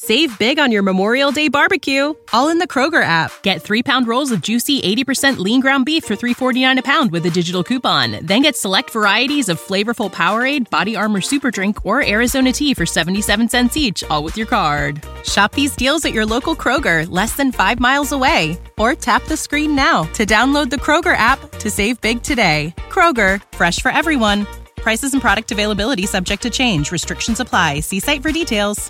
Save big on your Memorial Day barbecue, all in the Kroger app. Get 3-pound rolls of juicy 80% lean ground beef for $3.49 a pound with a digital coupon. Then get select varieties of flavorful Powerade, Body Armor Super Drink, or Arizona tea for 77 cents each, all with your card. Shop these deals at your local Kroger, less than 5 miles away. Or tap the screen now to download the Kroger app to save big today. Kroger, fresh for everyone. Prices and product availability subject to change. Restrictions apply. See site for details.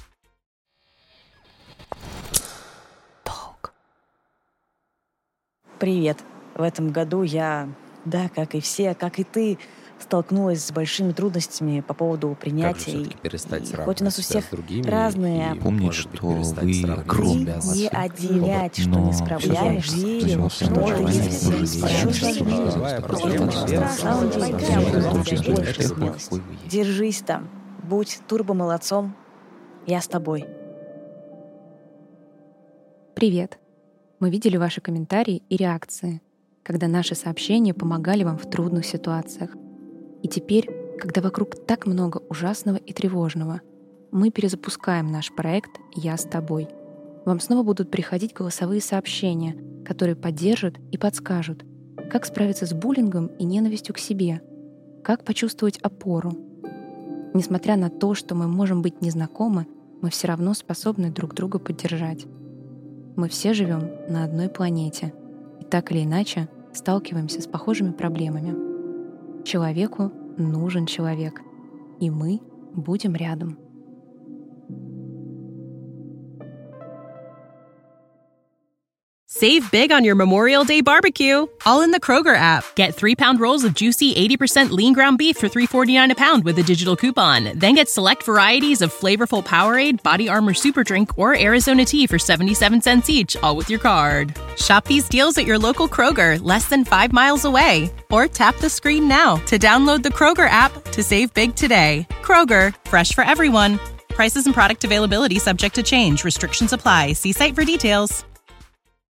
Привет. В этом году я, как и все, как и ты, столкнулась с большими трудностями по поводу принятия. Как же всё-таки перестать сравнивать хоть у нас у себя всех с другими разные и, помнить, может быть, что перестать вы сравнивать огромный себя с не отделять, что но не всё справляешься, равно, верим, что что желание ты есть. Держись там, будь турбо-молодцом, я с тобой. Привет! Мы видели ваши комментарии и реакции, когда наши сообщения помогали вам в трудных ситуациях. И теперь, когда вокруг так много ужасного и тревожного, мы перезапускаем наш проект «Я с тобой». Вам снова будут приходить голосовые сообщения, которые поддержат и подскажут, как справиться с буллингом и ненавистью к себе, как почувствовать опору. Несмотря на то, что мы можем быть незнакомы, мы все равно способны друг друга поддержать. Мы все живем на одной планете и так или иначе сталкиваемся с похожими проблемами. Человеку нужен человек, и мы будем рядом. Save big on your Memorial Day barbecue, all in the Kroger app. Get 3-pound rolls of juicy 80% lean ground beef for $3.49 a pound with a digital coupon. Then get select varieties of flavorful Powerade, Body Armor Super Drink, or Arizona tea for 77 cents each, all with your card. Shop these deals at your local Kroger, less than 5 miles away. Or tap the screen now to download the Kroger app to save big today. Kroger, fresh for everyone. Prices and product availability subject to change. Restrictions apply. See site for details.